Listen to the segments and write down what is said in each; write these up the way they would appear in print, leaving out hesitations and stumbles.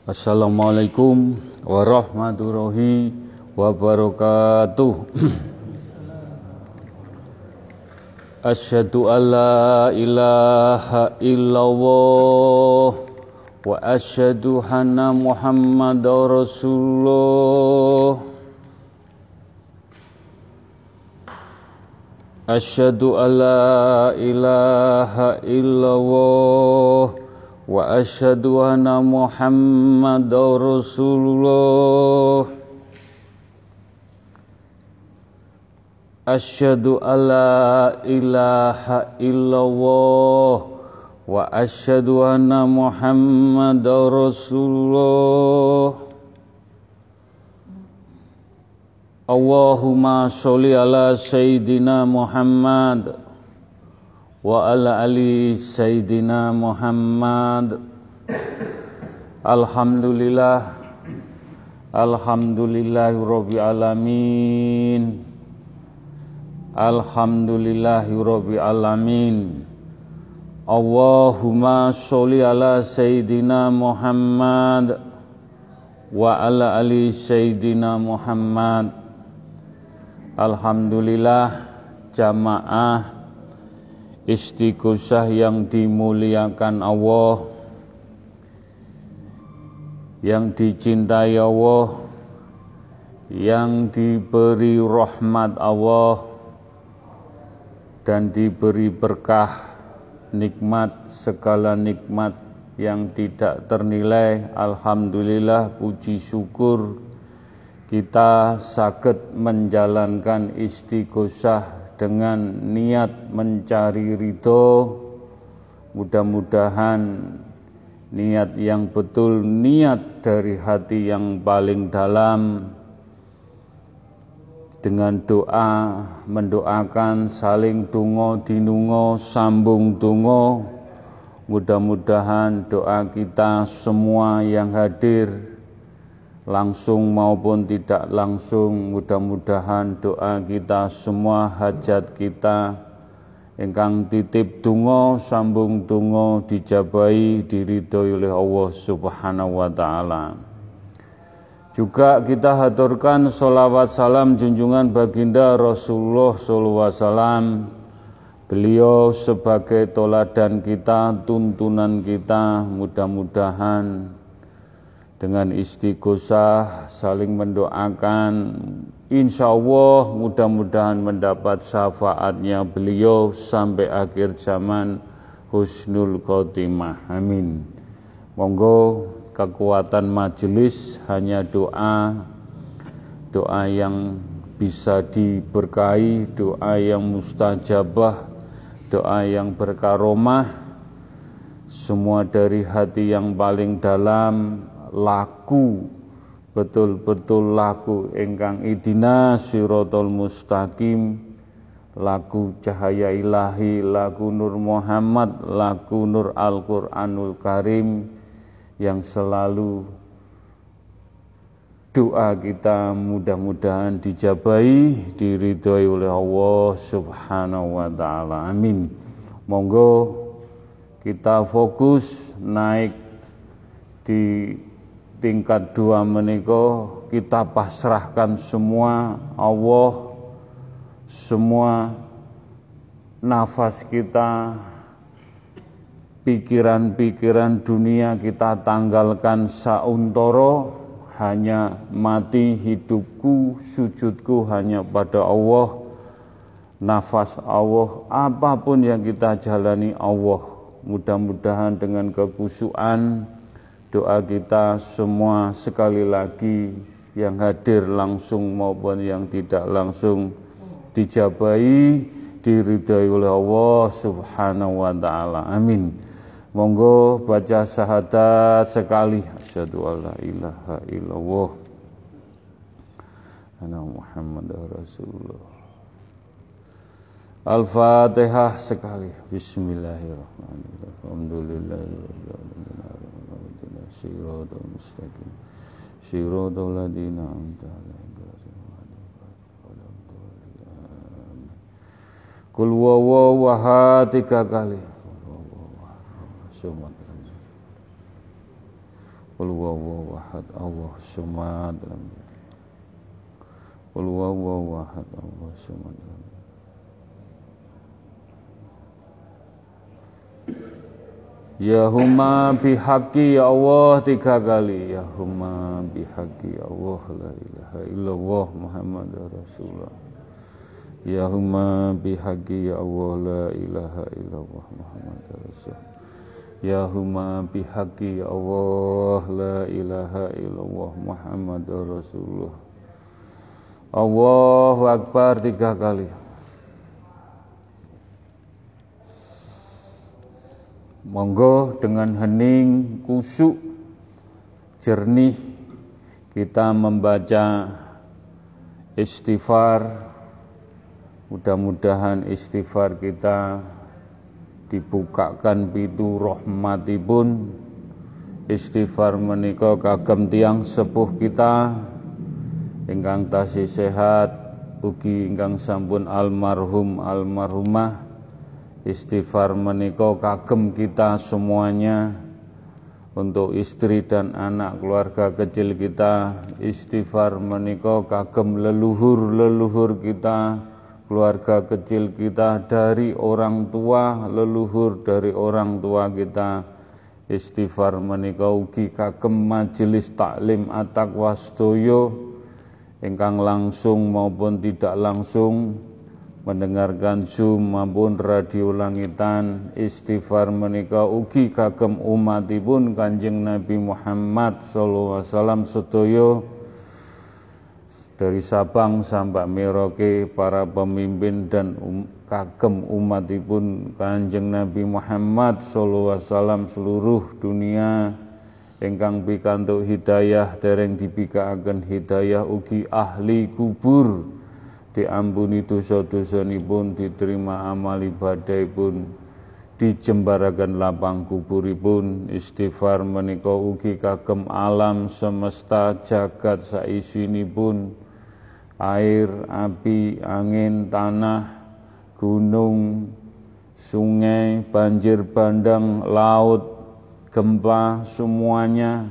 Assalamualaikum warahmatullahi wabarakatuh. Asyhadu an la ilaha illallah wa asyhadu anna Muhammadar Rasulullah. Asyhadu an la ilaha illallah wa asyhadu anna Muhammadar Rasulullah. Asyhadu an la ilaha illallah wa asyhadu anna Muhammadar Rasulullah. Allahumma sholli ala Sayyidina Muhammad wa ala ali Sayyidina Muhammad. Alhamdulillahirabbil alamin. Alhamdulillahirabbil alamin. Allahumma sholli ala Sayyidina Muhammad wa ala ali Sayyidina Muhammad. Alhamdulillah, jamaah Istighosah yang dimuliakan Allah, yang dicintai Allah, yang diberi rahmat Allah dan diberi berkah, nikmat, segala nikmat yang tidak ternilai. Alhamdulillah, puji syukur kita saged menjalankan istighosah dengan niat mencari ridho. Mudah-mudahan niat yang betul, niat dari hati yang paling dalam, dengan doa, mendoakan, saling donga dinunga, sambung donga. Mudah-mudahan doa kita semua yang hadir, langsung maupun tidak langsung, mudah-mudahan doa kita semua, hajat kita ingkang titip donga, sambung donga dijabahi, diridhoi oleh Allah Subhanahu wa taala. Juga kita haturkan sholawat salam junjungan baginda Rasulullah sallallahu alaihi wasallam. Beliau sebagai toladan kita, tuntunan kita, mudah-mudahan dengan istighosah saling mendoakan, insya Allah mudah-mudahan mendapat syafaatnya beliau sampai akhir zaman, husnul khotimah, amin. Monggo kekuatan majelis hanya doa, doa yang bisa diberkahi, doa yang mustajabah, doa yang berkaromah, semua dari hati yang paling dalam, laku, betul-betul laku ingkang idina siratal mustaqim, laku cahaya ilahi, laku nur Muhammad, laku nur Al-Qur'anul Karim, yang selalu doa kita mudah-mudahan dijabahi, diridhoi oleh Allah Subhanahu wa taala, amin. Monggo kita fokus naik di tingkat 2 menika, kita pasrahkan semua Allah, semua nafas kita, pikiran-pikiran dunia kita tanggalkan sauntara, hanya mati hidupku, sujudku hanya pada Allah, nafas Allah, apapun yang kita jalani Allah. Mudah-mudahan dengan kekhusyuan doa kita semua sekali lagi, yang hadir langsung maupun yang tidak langsung, dijabahi, diridhai oleh Allah Subhanahu wa taala, amin. Monggo baca syahadat sekali. Asyhadu alla ilaha illallah anna Muhammadar Rasulullah. Al-Fatihah sekali. Bismillahirrahmanirrahim. Alhamdulillahirabbil alamin. Shiratal mustaqim. Shiratal ladzina an'amta 'alaihim. Qul huwallahu ahad 3 kali. Qul huwallahu ahad, Allahus samad. Qul huwallahu ahad, Allahus samad. Ya huma bihaqi ya Allah 3 kali. Ya huma bihaqi ya Allah la ilaha illallah Muhammadur Rasulullah. Ya huma bihaqi ya Allah la ilaha illallah Muhammadur Rasulullah. Ya huma bihaqi ya Allah la ilaha illallah Muhammadur Rasulullah. Allahu Akbar 3 kali. Monggo dengan hening, kusuk, jernih kita membaca istighfar. Mudah-mudahan istighfar kita dibukakan pintu rahmatipun. Istighfar menika kagem tiyang sepuh kita ingkang tasih sehat, ugi ingkang sampun almarhum almarhumah. Istighfar menika kagem kita semuanya, untuk istri dan anak keluarga kecil kita. Istighfar menika kagem leluhur-leluhur kita, keluarga kecil kita, dari orang tua, leluhur dari orang tua kita. Istighfar menika ugi kagem majelis taklim at-taqwa sedaya ingkang langsung maupun tidak langsung mendengarkan Zoom maupun radio langitan. Istighfar menika ugi kagem umatipun Kanjeng Nabi Muhammad sallallahu alaihi wasallam sedaya, dari Sabang sampai Merauke, para pemimpin dan kagem umatipun Kanjeng Nabi Muhammad sallallahu alaihi wasallam seluruh dunia ingkang pikantuk hidayah, dereng dibikaaken hidayah, ugi ahli kubur diampuni dosa-dosanipun, diterima amal ibadahipun, dijembaraken lapang kuburipun. Istighfar menika ugi kagem alam semesta jagat saisinipun, air, api, angin, tanah, gunung, sungai, banjir bandang, laut, gempa, semuanya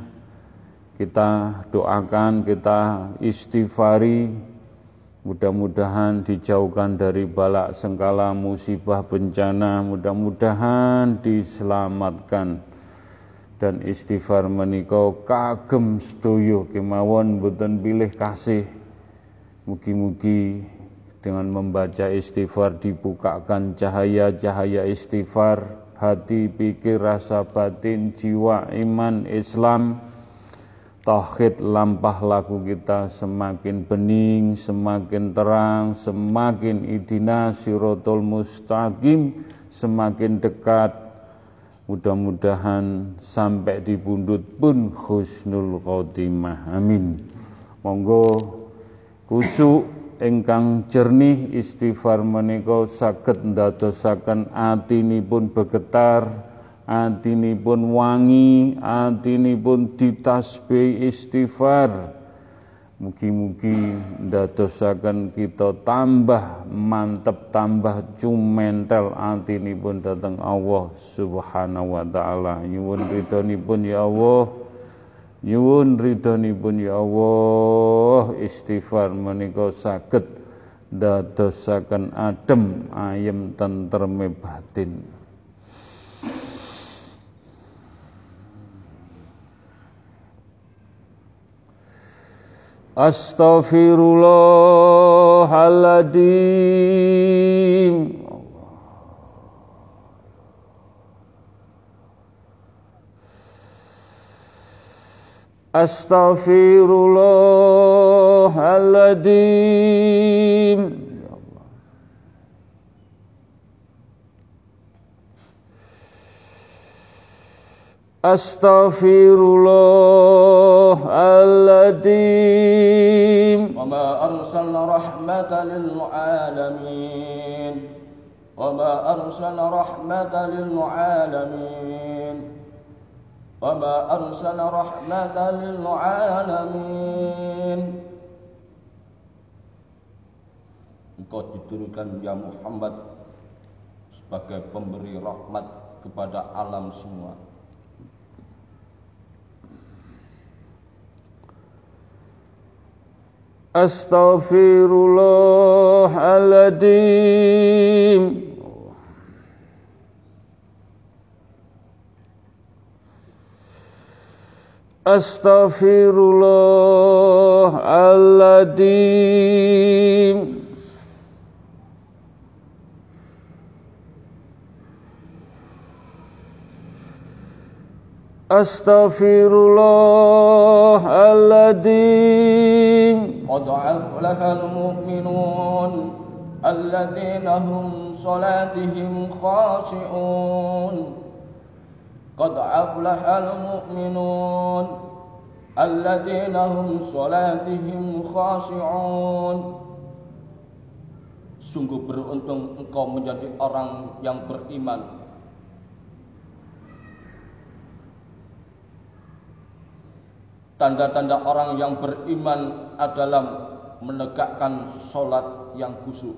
kita doakan, kita istighfari. Mudah-mudahan dijauhkan dari balak sengkala, musibah, bencana, mudah-mudahan diselamatkan. Dan istighfar menika kagem sedaya kemawon boten pilih kasih. Mugi-mugi dengan membaca istighfar dibukakan cahaya-cahaya istighfar, hati, pikir, rasa batin, jiwa, iman, Islam, tauhid, lampah laku kita semakin bening, semakin terang, semakin idina siratal mustaqim, semakin dekat. Mudah-mudahan sampai di pundut pun husnul khotimah. Amin. Monggo kusuk ingkang jernih, istighfar menika saged ndadosaken atinipun begetar, atinipun wangi, atinipun ditasbih istighfar. Mugi-mugi ndadosaken kita tambah mantep, tambah cumentel atinipun dhateng Allah Subhanahu wa taala. Nyuwun ridhonipun ya Allah, nyuwun ridhonipun ya Allah. Istighfar menika saged ndadosaken adem ayem tentreme batin. Astaghfirullahaladzim. Astaghfirullahaladzim. Astaghfirullahaladzim. Wa ma arsalna rahmatan lil alamin. Wa ma arsalna rahmatan lil alamin. Wa ma arsalna rahmatan lil alamin. Engkau diturunkan ya Muhammad sebagai pemberi rahmat kepada alam semua. Astaghfirullahaladzim. Astaghfirullahaladzim. Astaghfirullahaladzim. Qad aflahal mu'minun alladzina hum salatihim khashi'un. Qad aflahal mu'minun alladzina hum salatihim khashi'un. Sungguh beruntung engkau menjadi orang yang beriman. Tanda-tanda orang yang beriman adalah menegakkan sholat yang khusyuk.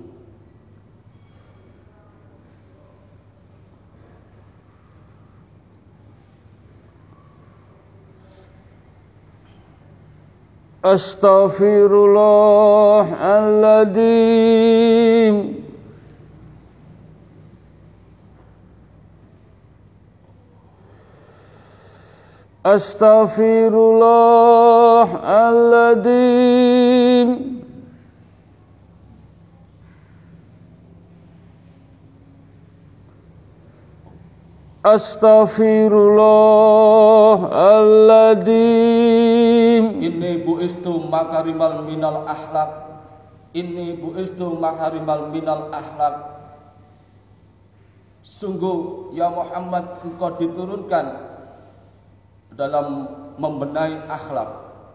Astaghfirullahaladzim. Astaghfirullahaladzim. Astaghfirullahaladzim. Inni bu'istu makarimal minal akhlak. Inni bu'istu makarimal minal akhlak. Sungguh ya Muhammad, engkau diturunkan dalam membenahi akhlak.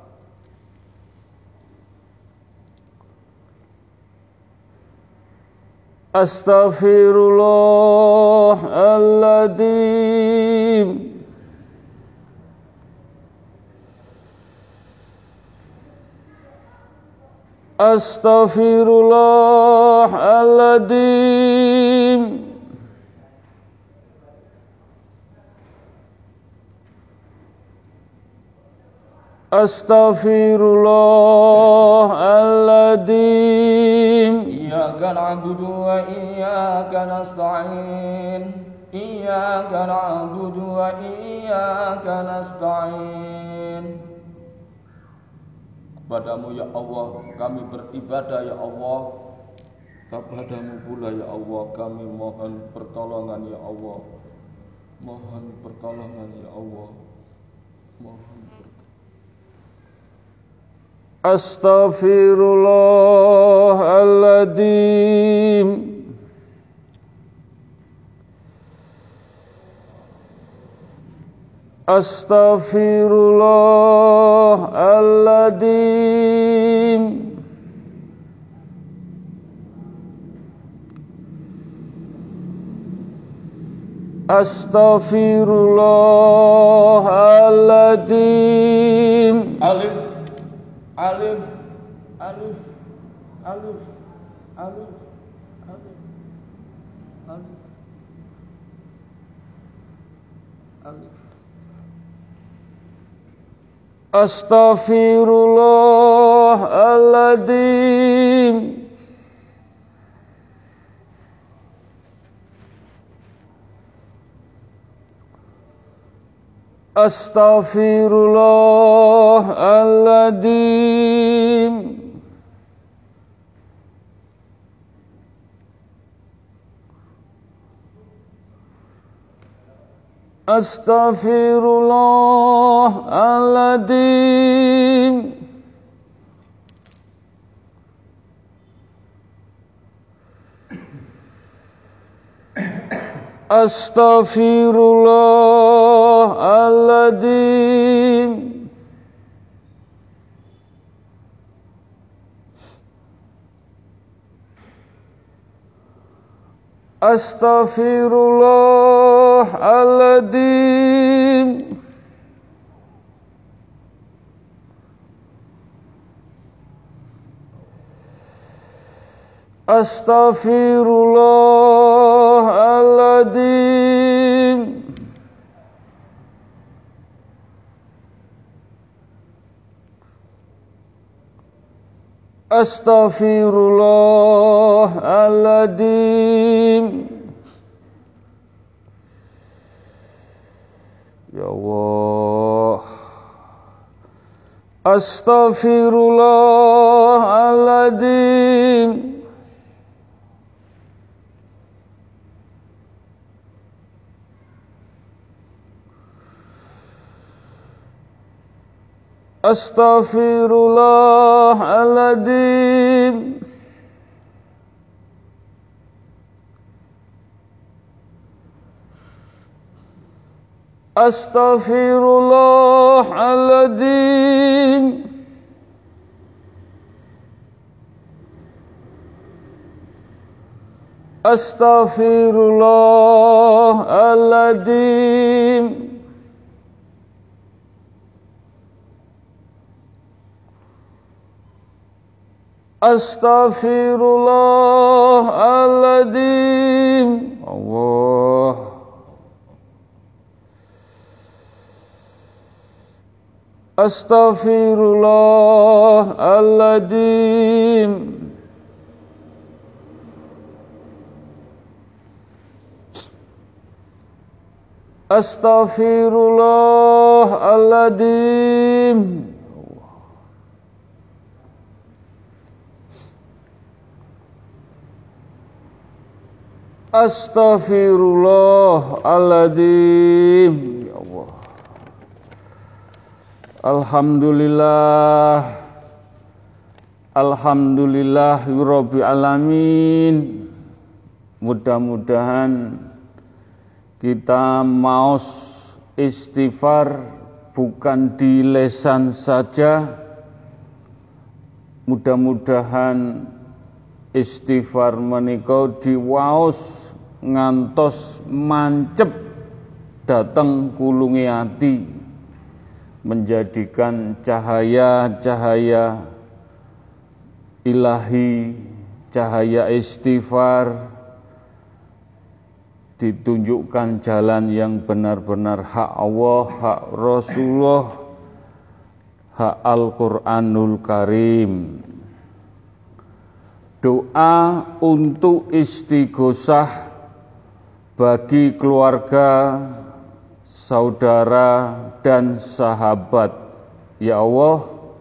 Astaghfirullahaladzim. Astaghfirullahaladzim. Astaghfirullahaladzim. Iyyaka na'budu wa iyyaka nasta'in. Iyyaka na'budu wa iyyaka nasta'in. Kepadamu ya Allah kami beribadah ya Allah. Kepadamu pula ya Allah kami mohon pertolongan ya Allah. Mohon pertolongan ya Allah. Mohon Astaghfirullahaladzim. Astaghfirullahaladzim. Astaghfirullahaladzim. Alif alif alif alif alif alif alif alif. Astaghfirullahaladzim. Astaghfirullahaladzim. Astaghfirullahaladzim. Astaghfirullahaladzim. Astaghfirullahaladzim. Astaghfirullahaladzim. Astaghfirullahaladzim. Ya Allah. Astaghfirullahaladzim. Astaghfirullahaladzim. Astaghfirullahaladzim. Astaghfirullahaladzim. Astaghfirullahaladzim. Allah. Astaghfirullahaladzim. Astaghfirullahaladzim. Astaghfirullahaladzim. Ya Allah. Alhamdulillah. Alhamdulillahirabbil alamin. Mudah-mudahan kita maos istighfar bukan di lisan saja. Mudah-mudahan istighfar menika diwaos ngantos mancep dateng kulunge ati, menjadikan cahaya-cahaya ilahi, cahaya istighfar, ditunjukkan jalan yang benar-benar hak Allah, hak Rasulullah, hak Al-Quranul Karim. Doa untuk istighosah bagi keluarga, saudara, dan sahabat. Ya Allah,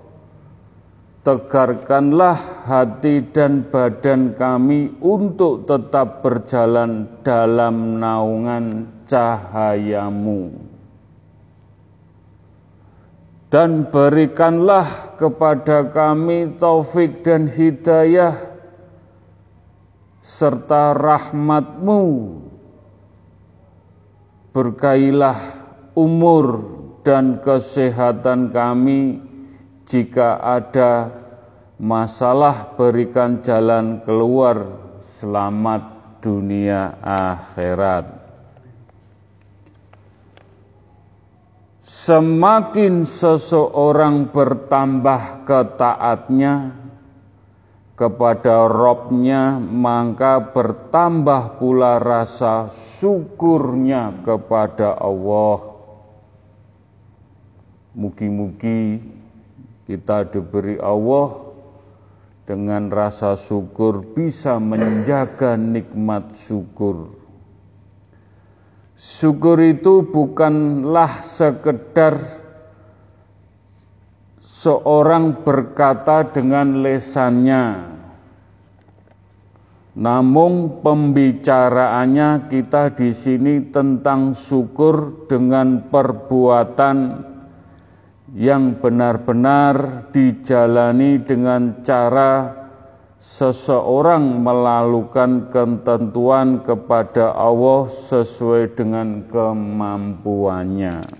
tegarkanlah hati dan badan kami untuk tetap berjalan dalam naungan cahayamu. Dan berikanlah kepada kami taufik dan hidayah serta rahmat-Mu. Berkailah umur dan kesehatan kami. Jika ada masalah, berikan jalan keluar selamat dunia akhirat. Semakin seseorang bertambah ketaatnya kepada Rabb-Nya, maka bertambah pula rasa syukurnya kepada Allah. Mugi-mugi kita diberi Allah dengan rasa syukur bisa menjaga nikmat syukur. Syukur itu bukanlah sekedar seorang berkata dengan lesannya, namun pembicaraannya kita di sini tentang syukur dengan perbuatan yang benar-benar dijalani dengan cara seseorang melakukan ketentuan kepada Allah sesuai dengan kemampuannya.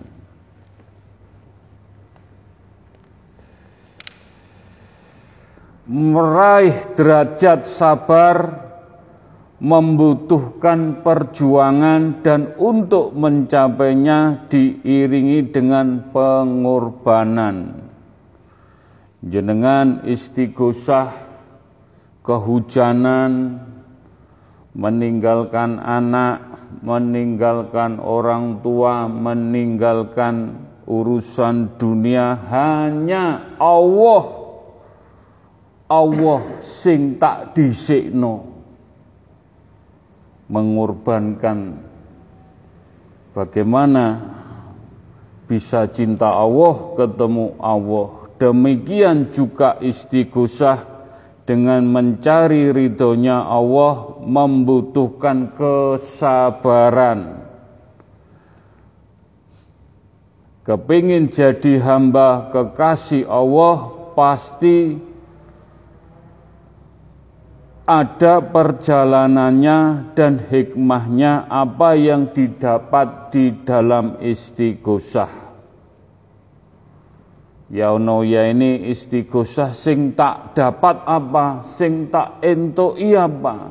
Meraih derajat sabar membutuhkan perjuangan dan untuk mencapainya diiringi dengan pengorbanan. Jenengan istighosah, kehujanan, meninggalkan anak, meninggalkan orang tua, meninggalkan urusan dunia, hanya Allah Allah sing tak dhisikno. Mengorbankan bagaimana bisa cinta Allah ketemu Allah. Demikian juga istighosah dengan mencari ridhonya Allah membutuhkan kesabaran. Kepingin jadi hamba kekasih Allah pasti ada perjalanannya dan hikmahnya apa yang didapat di dalam istighosah. Ya ono ya ini istighosah sing tak dapat apa, sing tak entuki apa.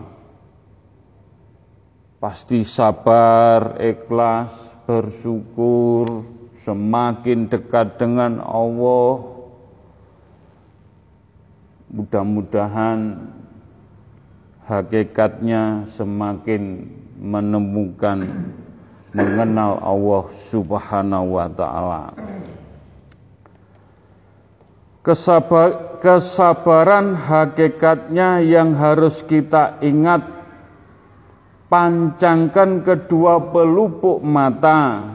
Pasti sabar, ikhlas, bersyukur, semakin dekat dengan Allah. Mudah-mudahan hakikatnya semakin menemukan, mengenal Allah Subhanahu wa ta'ala. Kesabaran hakikatnya yang harus kita ingat, pancangkan kedua pelupuk mata,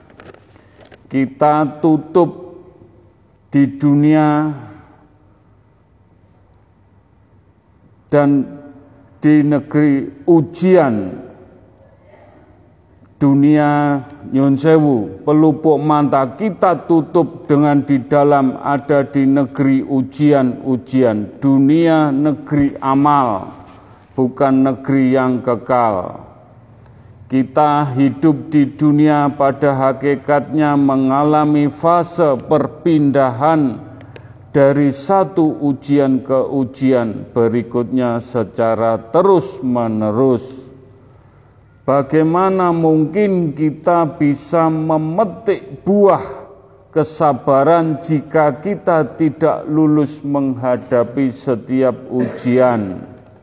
kita tutup di dunia dan di negeri ujian dunia, nyun sewu, pelupuk mata kita tutup dengan di dalam ada di negeri ujian-ujian. Dunia negeri amal, bukan negeri yang kekal. Kita hidup di dunia pada hakikatnya mengalami fase perpindahan dari satu ujian ke ujian berikutnya secara terus-menerus. Bagaimana mungkin kita bisa memetik buah kesabaran jika kita tidak lulus menghadapi setiap ujian?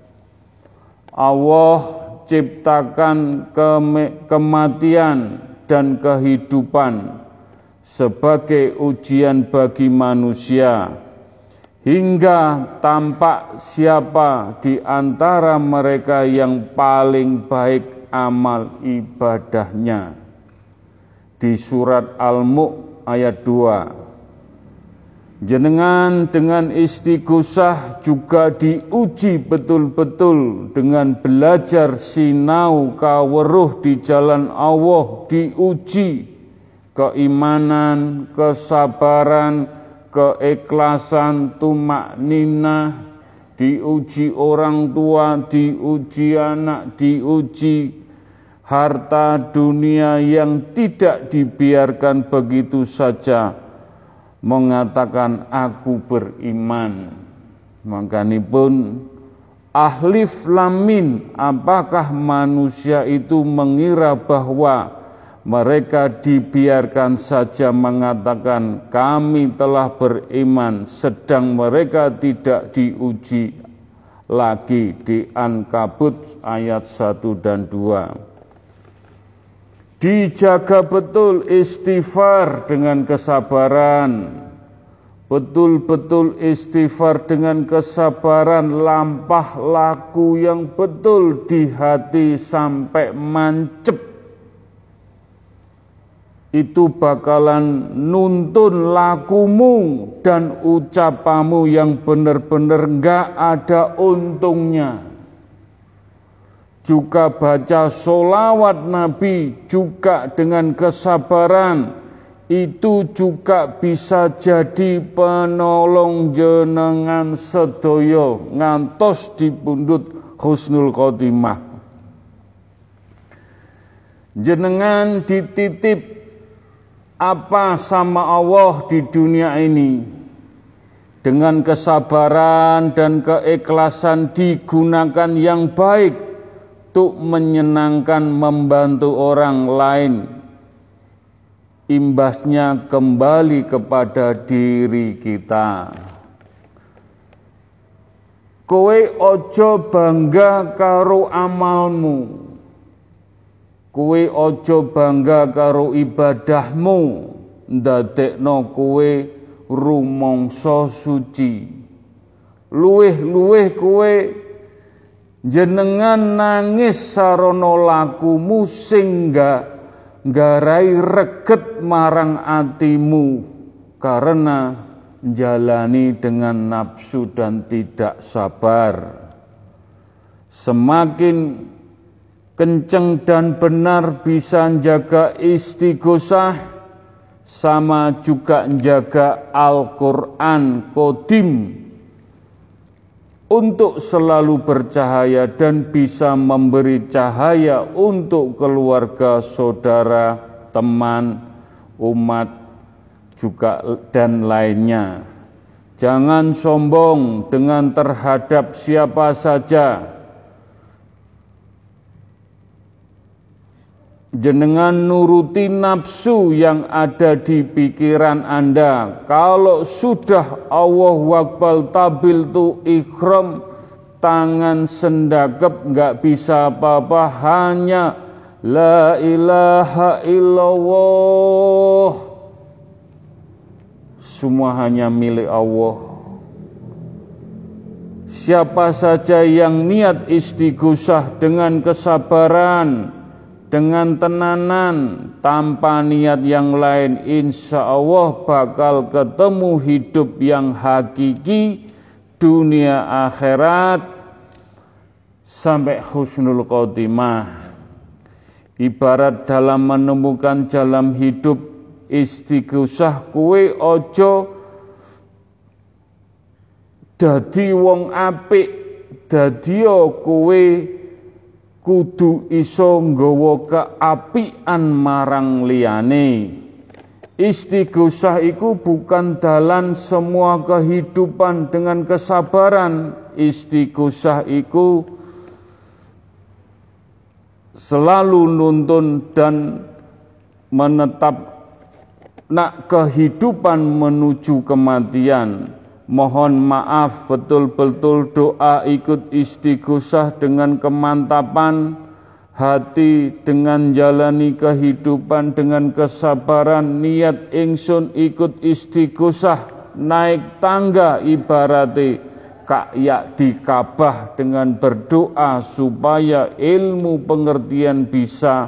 Allah ciptakan kematian dan kehidupan sebagai ujian bagi manusia, hingga tampak siapa di antara mereka yang paling baik amal ibadahnya. Di surat Al-Mulk ayat 2. Jenengan dengan istighosah juga diuji betul-betul dengan belajar sinau kaweruh di jalan Allah, diuji keimanan, kesabaran, keikhlasan, tumakninah, diuji orang tua, diuji anak, diuji harta dunia yang tidak dibiarkan begitu saja mengatakan aku beriman. Makanipun ahlif lamin, apakah manusia itu mengira bahwa mereka dibiarkan saja mengatakan kami telah beriman, sedang mereka tidak diuji lagi. Di Ankabut ayat 1 dan 2. Dijaga betul istighfar dengan kesabaran, betul-betul istighfar dengan kesabaran, lampah laku yang betul di hati sampai mancep. Itu bakalan nuntun lakumu dan ucapamu yang benar-benar enggak ada untungnya. Juga baca sholawat Nabi juga dengan kesabaran, itu juga bisa jadi penolong jenengan sedoyo ngantos dipundhut husnul khotimah. Jenengan dititip apa sama Allah di dunia ini, dengan kesabaran dan keikhlasan digunakan yang baik untuk menyenangkan, membantu orang lain, imbasnya kembali kepada diri kita. Kowe ojo bangga karo amalmu, kowe ojo bangga karo ibadahmu, ndadekno kowe rumangsa suci. luweh kowe jenengan nangis sarana lakumu sing nggarai reget marang atimu karena jalani dengan nafsu dan tidak sabar. Semakin kenceng dan benar bisa jaga istighosah, sama juga jaga Al-Quran Qadim untuk selalu bercahaya dan bisa memberi cahaya untuk keluarga, saudara, teman, umat, juga dan lainnya. Jangan sombong dengan terhadap siapa saja. Jenengan nuruti nafsu yang ada di pikiran Anda. Kalau sudah Allahu Akbar tabil tu ikhram, tangan sendakep nggak bisa apa-apa, hanya la ilaha illallah. Semua hanya milik Allah. Siapa saja yang niat istighosah dengan kesabaran, dengan tenanan, tanpa niat yang lain, insya Allah bakal ketemu hidup yang hakiki, dunia akhirat, sampai husnul khotimah. Ibarat dalam menemukan jalan hidup istighosah, kuwe ojo dadi wong apik, dadio kuwe kudu iso nggawa keapian marang liyane. Istighosah iku bukan dalan semua kehidupan dengan kesabaran. Istighosah iku selalu nuntun dan menetap nak kehidupan menuju kematian. Mohon maaf, betul-betul doa ikut istighosah dengan kemantapan hati, dengan jalani kehidupan dengan kesabaran. Niat ingsun ikut istighosah naik tangga ibarate kayak di Ka'bah dengan berdoa supaya ilmu pengertian bisa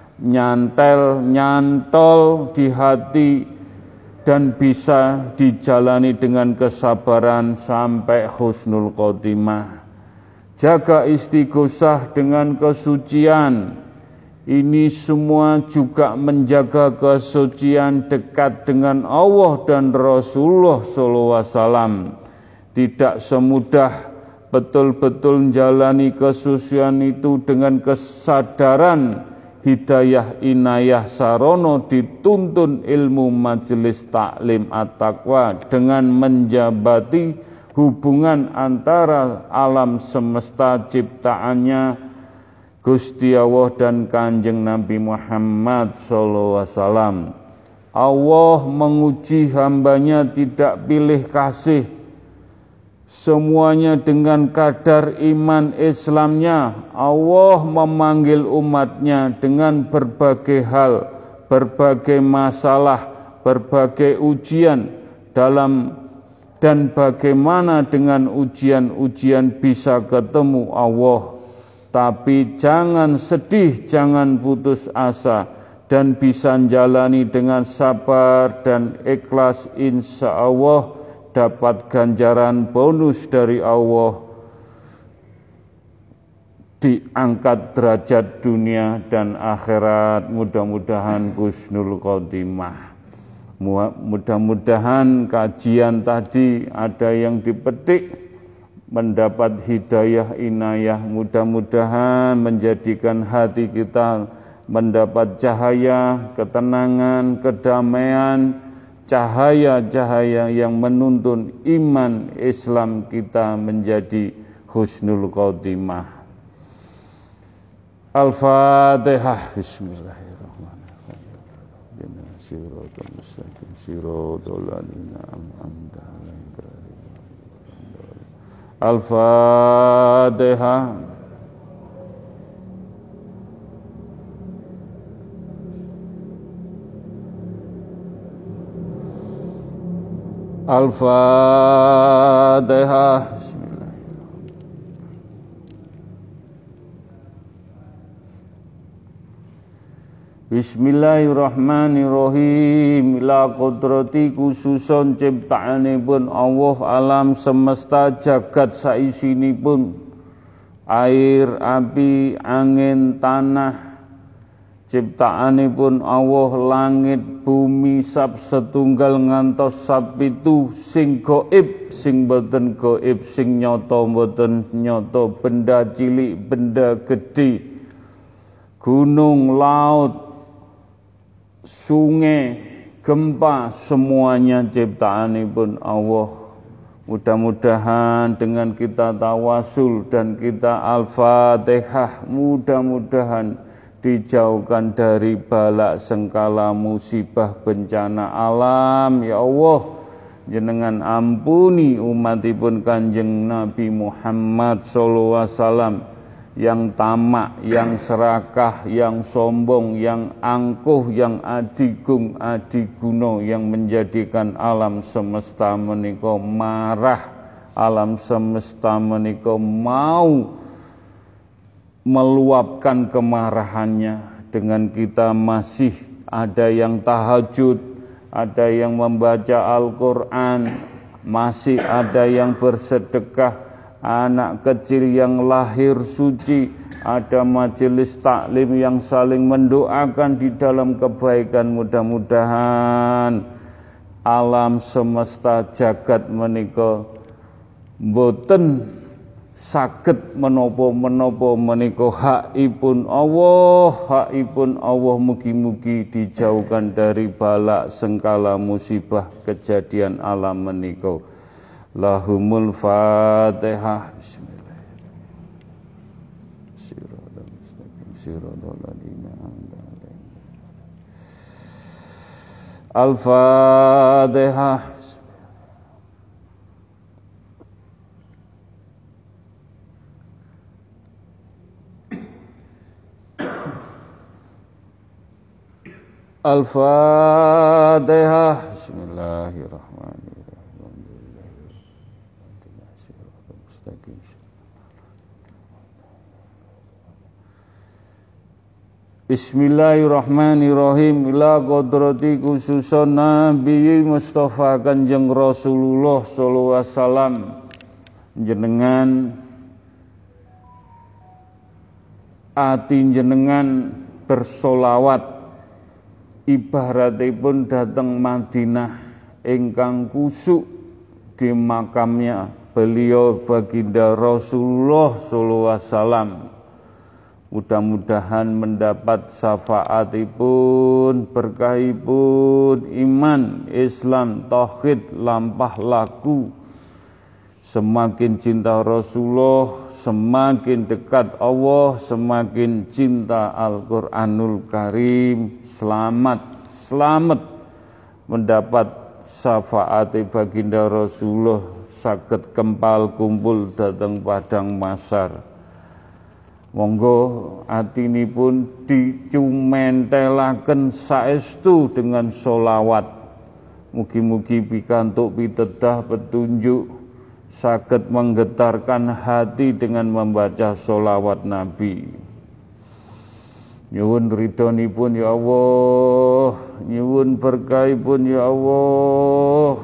nyantol di hati dan bisa dijalani dengan kesabaran sampai husnul khotimah. Jaga istighosah dengan kesucian. Ini semua juga menjaga kesucian dekat dengan Allah dan Rasulullah SAW. Tidak semudah betul-betul menjalani kesucian itu dengan kesadaran hidayah inayah sarono, dituntun ilmu majelis taklim at-taqwa dengan menjabati hubungan antara alam semesta ciptaannya Gusti Allah dan Kanjeng Nabi Muhammad SAW. Allah menguji hambanya tidak pilih kasih, semuanya dengan kadar iman Islamnya. Allah memanggil umatnya dengan berbagai hal, berbagai masalah, berbagai ujian dan bagaimana dengan ujian-ujian bisa ketemu Allah. Tapi jangan sedih, jangan putus asa, dan bisa jalani dengan sabar dan ikhlas, insya Allah dapat ganjaran bonus dari Allah, diangkat derajat dunia dan akhirat. Mudah-mudahan husnul khotimah. Mudah-mudahan kajian tadi ada yang dipetik, mendapat hidayah inayah. Mudah-mudahan menjadikan hati kita mendapat cahaya, ketenangan, kedamaian, cahaya-cahaya yang menuntun iman Islam kita menjadi husnul khotimah. Al-Fatihah. Bismillahirrahmanirrahim. Siratal mustaqim, siratal ladzina an'amta 'alaihim. Al-Fatihah. Al-Fatihah. Bismillahirrahmanirrahim. Ila qudrati khususon ciptaanipun Allah alam semesta jagat saisinipun air, api, angin, tanah, ciptaanipun Allah langit, bumi, sab setunggal ngantos sab pitu sing gaib, sing boten gaib, sing nyata boten nyata, benda cilik, benda gedhe, gunung, laut, sungai, gempa, semuanya ciptaanipun Allah. Mudah-mudahan dengan kita tawasul dan kita Al-Fatihah, mudah-mudahan dijauhkan dari balak sengkala musibah bencana alam. Ya Allah, jenengan ampuni umatipun Kanjeng Nabi Muhammad sallallahu alaihi wasallam yang tamak, yang serakah, yang sombong, yang angkuh, yang adigung, adiguna, yang menjadikan alam semesta menika marah, alam semesta menika mau meluapkan kemarahannya. Dengan kita masih ada yang tahajud, ada yang membaca Al-Quran, masih ada yang bersedekah, anak kecil yang lahir suci, ada majelis taklim yang saling mendoakan di dalam kebaikan. Mudah-mudahan alam semesta jagat menika boten saged menapa-menapa menika hakipun Allah, mugi-mugi dijauhkan dari balak sengkala musibah kejadian alam menika. Lahumul Fatihah. Bismillahirrahmanirrahim. Al-Fatihah. Al-Fatihah. Bismillahirrahmanirrahim. Bismillahirrahmanirrahim. Ila qudrati khususon Nabi Mustafa Kanjeng Rasulullah sallallahu alaihi wasallam, jenengan ati jenengan bersolawat ibaratipun dateng Madinah ingkang kusuk di makamnya beliau baginda Rasulullah sallallahu alaihi wasallam. Mudah-mudahan mendapat syafaatipun, berkahipun iman, Islam, tauhid lampah laku. Semakin cinta Rasulullah, semakin dekat Allah, semakin cinta Al-Qur'anul Karim. Selamat mendapat syafaat baginda Rasulullah, saged kempal kumpul dateng padang mahsyar. Monggo atinipun dicumentelaken saestu dengan sholawat. Mugi-mugi pikantuk pitedah petunjuk, saged menggetarkan hati dengan membaca sholawat Nabi. Nyuwun ridhonipun ya Allah, nyuwun berkahipun ya Allah.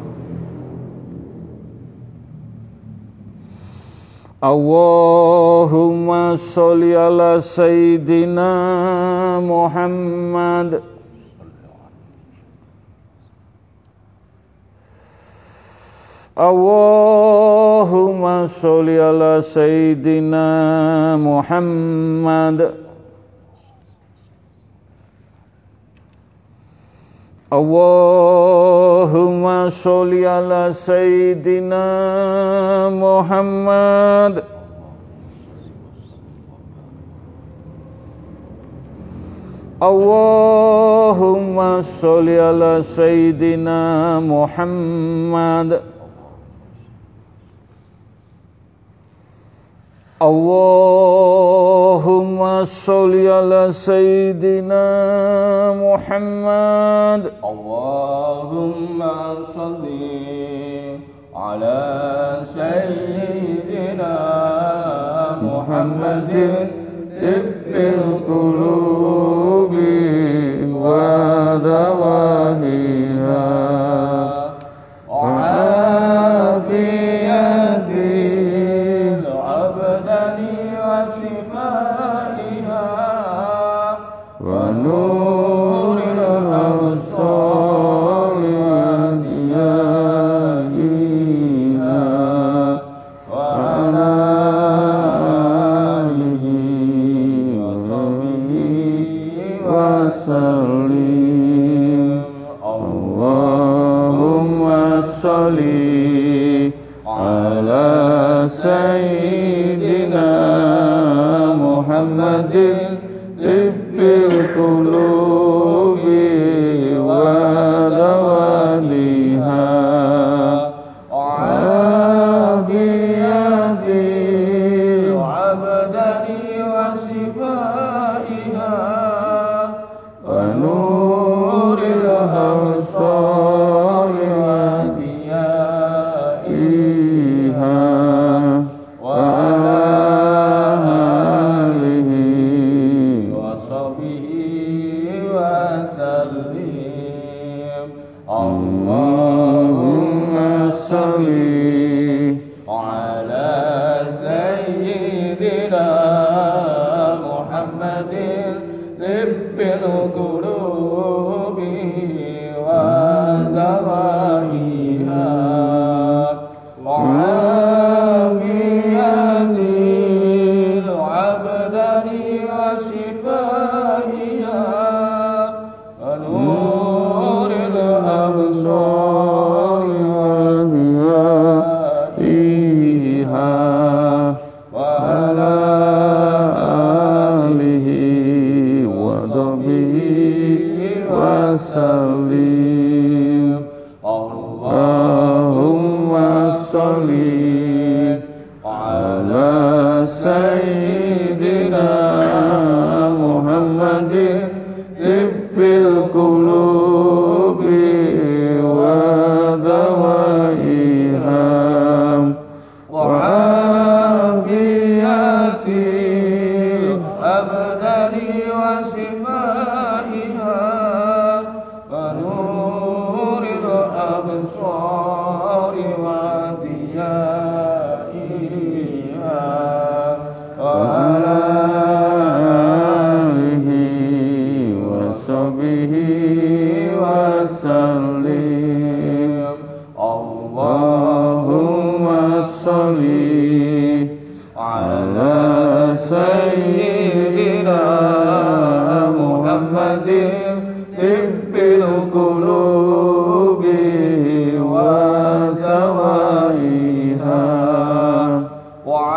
Allahumma sholli ala Sayyidina Muhammad. Allahumma sholli ala Sayyidina Muhammad. Allahumma sholli ala Sayyidina Muhammad. Allahumma sholli ala Sayyidina Muhammad. Allahumma sholli ala Sayyidina Muhammad. Allahumma sholli ala Sayyidina Muhammadin tibbil qulubi wa dawahiha wa afiyatil abdani wa shifaiha wa nuril absari wa diyaiha wa ala alihi wa sahbihi wa sallim. Allahumma sholli ala Sayyidina Muhammadin tibbil qulubi wa dawaliha wa afiyatil abdani wa shifaiha wa nuril absari wa diyaiha wa alihi wa sahbihi wa sallim. Allahumma sholli ala Sayyidina Muhammadin tibbil qulubi wa dawaiha wa afiyatil abdani wa shifaiha wa nuril absari wa diyaiha wa ala alihi wa sahbihi wa sallim. Allahumma sholli ala Sayyidina Muhammadin tibbil qulubi wa dawaiha wa afiyatil abdani wa shifaiha wa nuril absari wa diyaiha wa ala alihi wa sahbihi wa sallim. Allahumma sholli ala Sayyidina Muhammadin tibbil qulubi wa dawaiha wa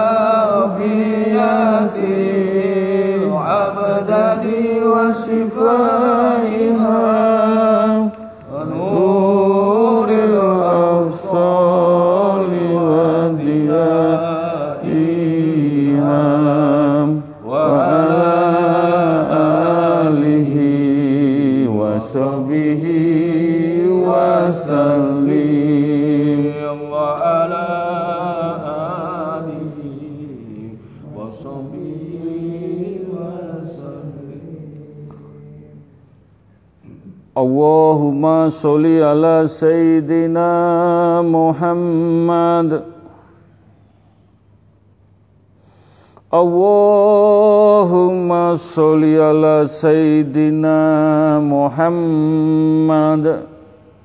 afiyatil abdani wa shifaiha wa nuril absari wa diyaiha wa ala alihi wa sahbihi wa sallim. Wa ala alihi wa sahbihi wa sallim. Allahumma sholli ala Sayyidina Muhammad. Allahumma sholli ala Sayyidina Muhammad.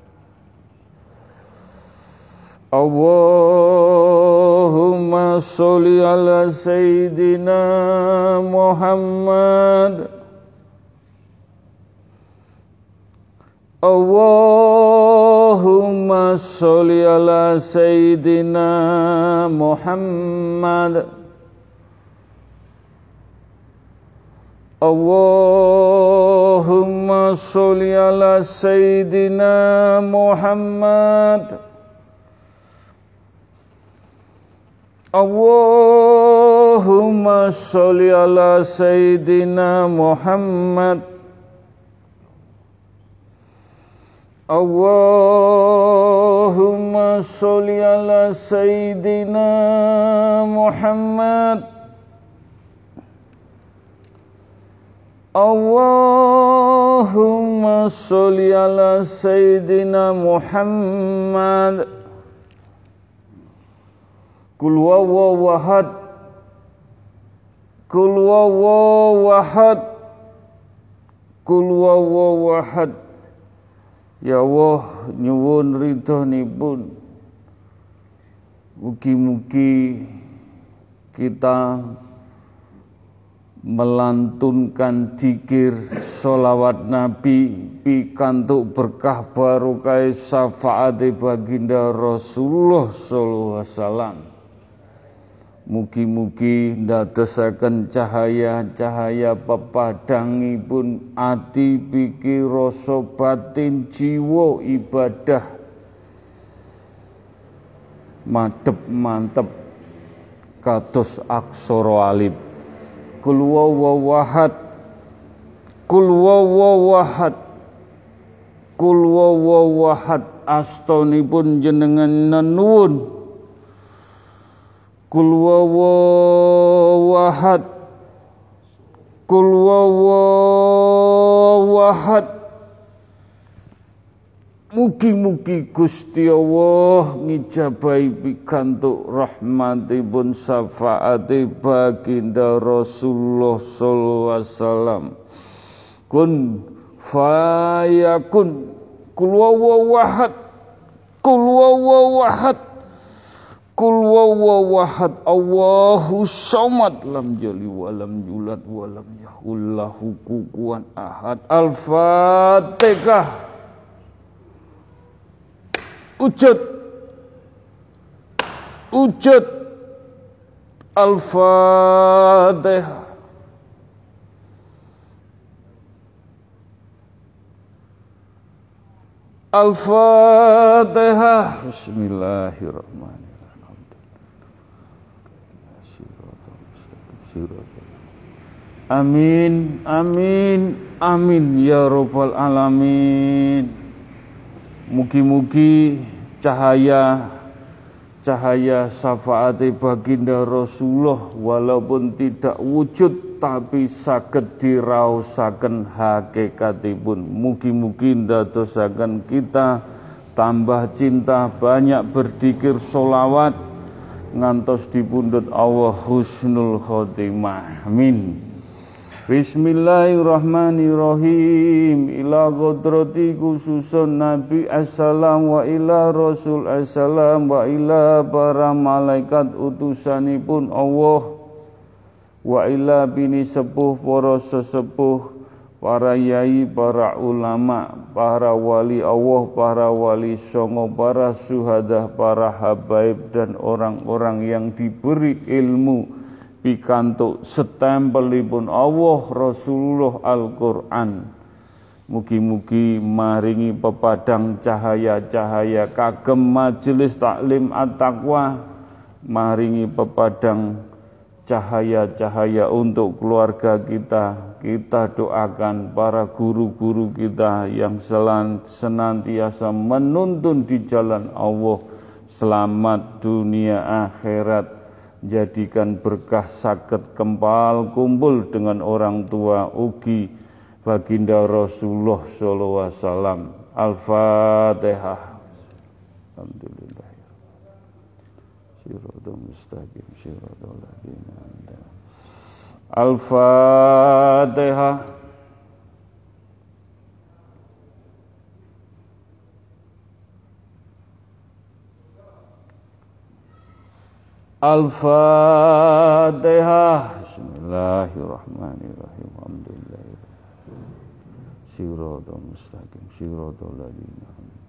Allahumma sholli ala Sayyidina Muhammad. Allahumma sholli ala Sayyidina Muhammad. Allahumma sholli ala Sayyidina Muhammad. Allah Allahumma sholli ala Sayyidina Muhammad. Allahumma sholli ala Sayyidina Muhammad. Allahumma sholli ala Sayyidina Muhammad. Qul huwallahu ahad. Qul huwallahu ahad. Qul huwallahu ahad. Ya Allah, nyuwun ridhonipun. Mugi-mugi kita melantunkan dzikir sholawat Nabi pikantuk berkah barokah syafaat baginda Rasulullah sallallahu alaihi wasallam. Mugi-mugi ndadosaken cahaya-cahaya pepadangipun ati pikir rasa batin jiwa ibadah madhep mantep kados aksara alif. Qul huwallahu ahad. Qul huwallahu ahad. Qul huwallahu ahad. Astonipun jenengan nuwun. Qul huwallahu ahad. Qul huwallahu ahad. Mugi-mugi Gusti Allah ngijabahi pikantuk rahmatipun syafaate baginda Rasulullah sallallahu alaihi wasallam. Kun fayakun. Qul huwallahu ahad. Qul huwallahu ahad. Qul huwallahu ahad. Allahu samad lam yalid wa lam yulad wa lam yakul lahu kufuwan ahad. Al-Fatihah. Ujud Al-Fatihah. Al-Fatihah. Bismillahirrahmanirrahim. Amin, amin, amin ya rabbal alamin. Mugi-mugi cahaya syafaat baginda Rasulullah walaupun tidak wujud tapi saged diraosaken hakikatipun. Mugi-mugi ndadosaken kita tambah cinta, banyak berzikir sholawat ngantos dipundhut Allah husnul khotimah. Amin. Bismillahirrahmanirrahim. Ila qadrati khususun Nabi assalam wa ila Rasul assalam wa ila para malaikat utusanipun Allah wa ila bini sepuh para sesepuh, para yai, para ulama, para wali Allah, para wali songo, para syuhada, para habaib dan orang-orang yang diberi ilmu pikantuk setempelipun Allah Rasulullah Al-Qur'an. Mugi-mugi maringi pepadang cahaya-cahaya kagem majelis taklim at-taqwa, maringi pepadang cahaya-cahaya untuk keluarga kita. Kita doakan para guru-guru kita yang senantiasa menuntun di jalan Allah, selamat dunia akhirat. Jadikan berkah saged kempal kumpul dengan orang tua ugi baginda Rasulullah sallallahu alaihi wasallam. Al-Fatihah. Alhamdulillah. Shiratal mustaqim, shiratal ladzina an'amta. Al-Fatihah. Al-Fatihah. Bismillahirrahmanirrahim. Alhamdulillah. Shiratal mustaqim, shiratal ladzina an'amta.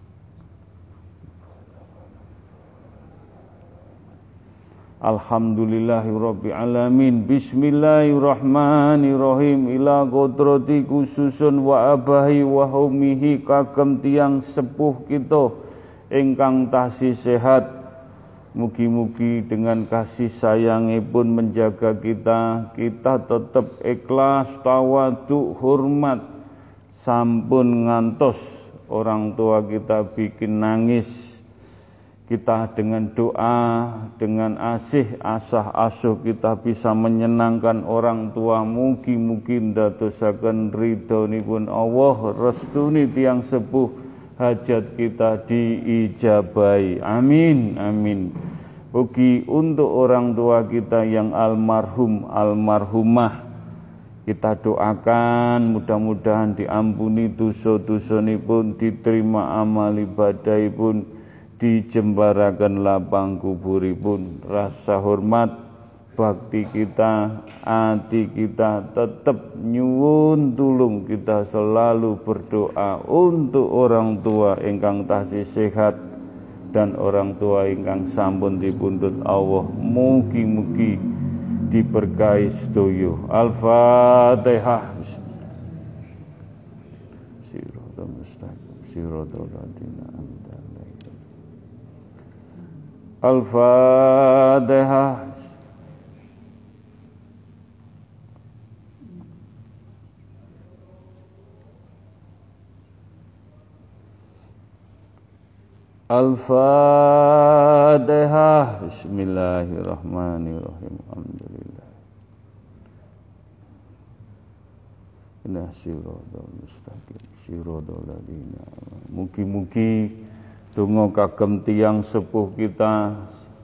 Alhamdulillahirabbil alamin. Bismillahirrahmanirrahim. Ila qadrati khususun wa abahi wa umihi kagem tiyang sepuh kita ingkang tasih sehat Mugi-mugi dengan kasih sayangipun menjaga kita tetap ikhlas, tawadhu, hormat, sampun ngantos orang tua kita bikin nangis. Kita dengan doa, dengan asah asuh kita bisa menyenangkan orang tua. Mugi-mugi ndadosaken ridhonipun Allah, restuni tiyang sepuh, hajat kita diijabahi. Amin, amin. Mugi untuk orang tua kita yang almarhum, almarhumah, kita doakan mudah-mudahan diampuni dosa-dosanipun, diterima amal ibadahipun, dijembaraken lapang kuburipun. Rasa hormat bakti kita, hati kita tetap nyuwun tulung, kita selalu berdoa untuk orang tua ingkang tasih sehat dan orang tua ingkang sampun dipundhut Allah. Mugi-mugi diberkahi sedaya. Al-Fatihah. Siratal mustaqim, siratal ladzina an'amta 'alaihim. Al-Fatihah. Al-Fatihah. Bismillahirrahmanirrahim. Alhamdulillah. Inna siratal mustaqim, siratal ladzina. Mugi-mugi donga kagem tiyang sepuh kita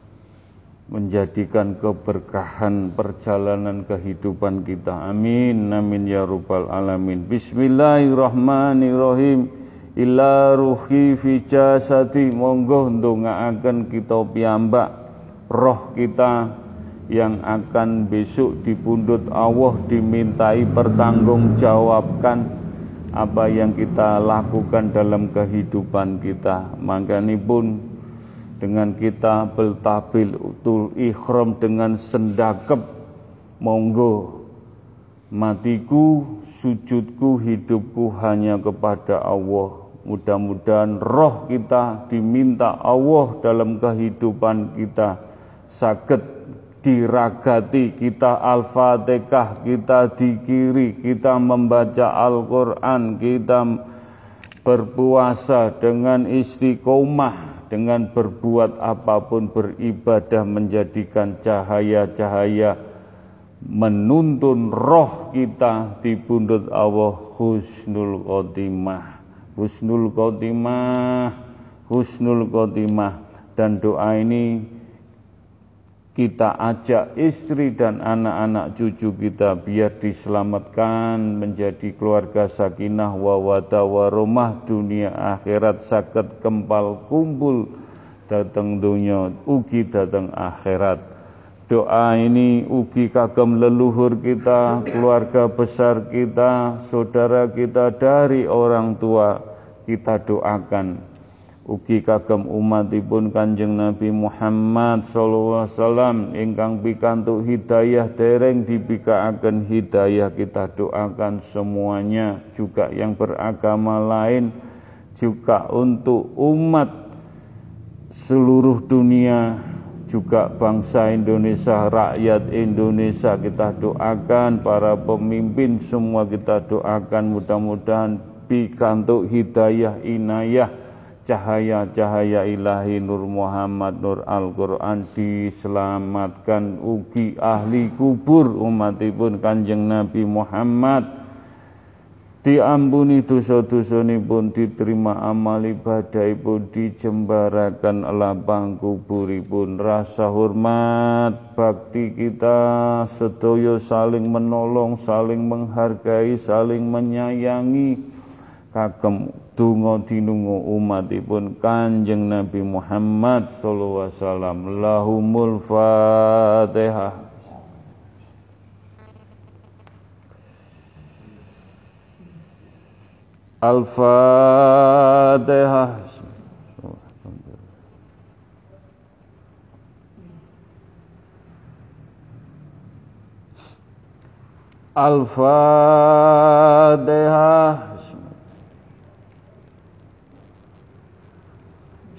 menjadikan keberkahan perjalanan kehidupan kita. Amin, amin ya rabbal alamin. Bismillahirrahmanirrahim. Ila ruhi fi jasadi, monggo ndongaaken kita piyambak roh kita yang akan besok dipundhut Allah, dimintai pertanggungjawabkan apa yang kita lakukan dalam kehidupan kita. Makanipun dengan kita beltabil utul ikhram dengan sendakep, monggo matiku, sujudku, hidupku hanya kepada Allah. Mudah-mudahan roh kita diminta Allah dalam kehidupan kita, saged diragati, kita Al-Fatihah, kita dikiri, kita membaca Al-Quran, kita berpuasa dengan istiqomah, dengan berbuat apapun, beribadah, menjadikan cahaya-cahaya menuntun roh kita dipundhut Allah. Husnul khotimah, husnul khotimah, husnul khotimah. Dan doa ini kita ajak istri dan anak-anak cucu kita biar diselamatkan menjadi keluarga sakinah wawadah warahmah, dunia akhirat saged kempal kumpul dateng dunya ugi dateng akhirat. Doa ini ugi kagem leluhur kita, keluarga besar kita, saudara kita dari orang tua, kita doakan. Ugi kagem umatipun Kanjeng Nabi Muhammad sallallahu alaihi wasallam ingkang pikantuk hidayah dereng dibikaaken hidayah, kita doakan semuanya, juga yang beragama lain, juga untuk umat seluruh dunia, juga bangsa Indonesia, rakyat Indonesia kita doakan, para pemimpin semua kita doakan, mudah-mudahan pikantuk hidayah inayah, cahaya-cahaya ilahi Nur Muhammad, Nur Al-Quran, diselamatkan. Ugi ahli kubur umatipun Kanjeng Nabi Muhammad, diampuni dosa-dosanipun, diterima amal ibadahipun, dijembaraken lapang kuburipun. Rasa hormat bakti kita sedaya saling menolong, saling menghargai, saling menyayangi kagem donga dinunga umatipun Kanjeng Nabi Muhammad sallallahu alaihi wasallam. Lahumul Fatihah. Al-Fatihah. Al-Fatihah.